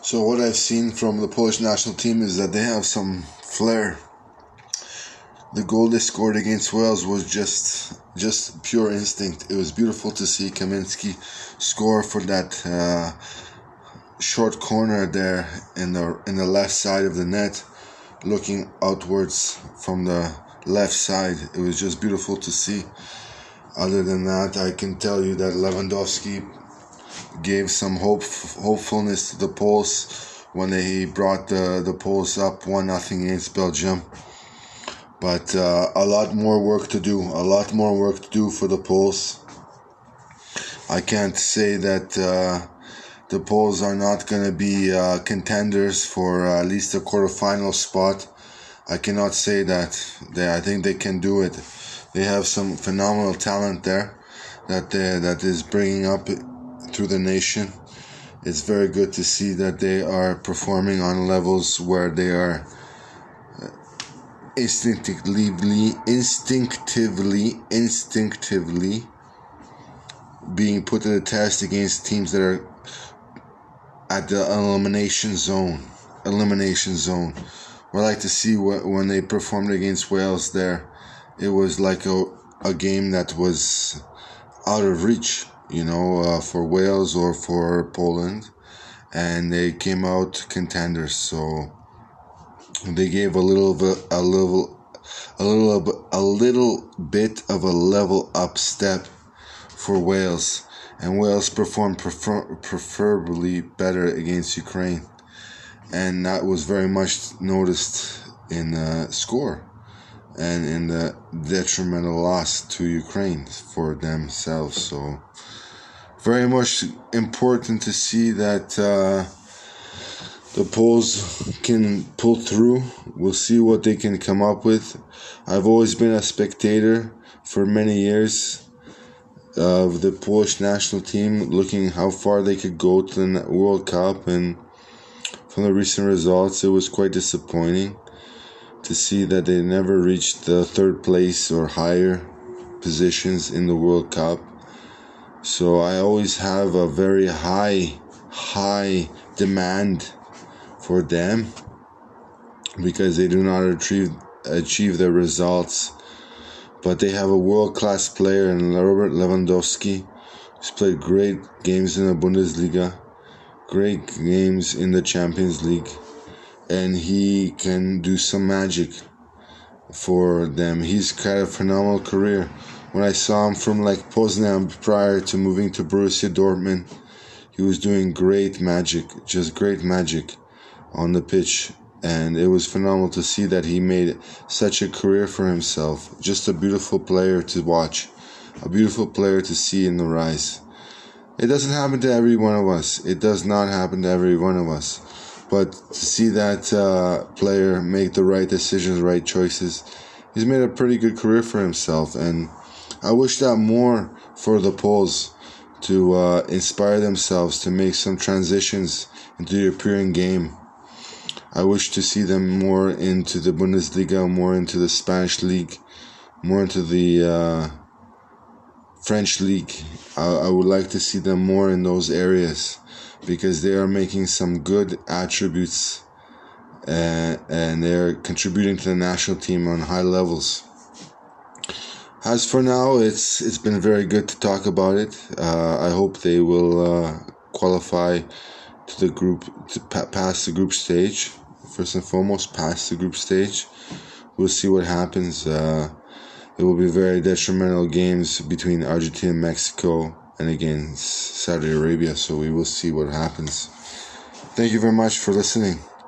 So what I've seen from the Polish national team is that they have some flair. The goal they scored against Wales was just pure instinct. It was beautiful to see Kaminski score for that short corner there in the left side of the net, looking outwards from the left side. It was just beautiful to see. Other than that, I can tell you that Lewandowski gave some hopefulness to the Poles when he brought the Poles up 1-0 against Belgium. But a lot more work to do for the Poles. I can't say that the Poles are not going to be contenders for at least a quarterfinal spot. I cannot say that. I think they can do it. They have some phenomenal talent there that is bringing up through the nation. It's very good to see that they are performing on levels where they are instinctively being put to the test against teams that are at the elimination zone. I like to see when they performed against Wales there. It was like a game that was out of reach, for Wales or for Poland, and they came out contenders. So they gave a little bit of a level up step for Wales, and Wales performed preferably better against Ukraine, and that was very much noticed in the score and in the detrimental loss to Ukraine for themselves. So very much important to see that the Poles can pull through. We'll see what they can come up with. I've always been a spectator for many years of the Polish national team, looking how far they could go to the World Cup, and from the recent results, it was quite disappointing to see that they never reached the third place or higher positions in the World Cup. So I always have a very high demand for them, because they do not achieve their results. But they have a world-class player in Robert Lewandowski, who's played great games in the Bundesliga, great games in the Champions League, and he can do some magic for them. He's had a phenomenal career. When I saw him from Poznan prior to moving to Borussia Dortmund, he was doing great magic on the pitch, and it was phenomenal to see that he made such a career for himself. Just a beautiful player to watch, a beautiful player to see in the rise. It doesn't happen to every one of us. It does not happen to every one of us. But to see that player make the right decisions, right choices, he's made a pretty good career for himself. And I wish that more for the Poles, to inspire themselves to make some transitions into the European game. I wish to see them more into the Bundesliga, more into the Spanish league, more into the French league. I would like to see them more in those areas, because they are making some good attributes and they're contributing to the national team on high levels. As for now, it's been very good to talk about it. I hope they will qualify to the group, to pass the group stage. First and foremost, pass the group stage. We'll see what happens. It will be very detrimental games between Argentina and Mexico, and against Saudi Arabia, so we will see what happens. Thank you very much for listening.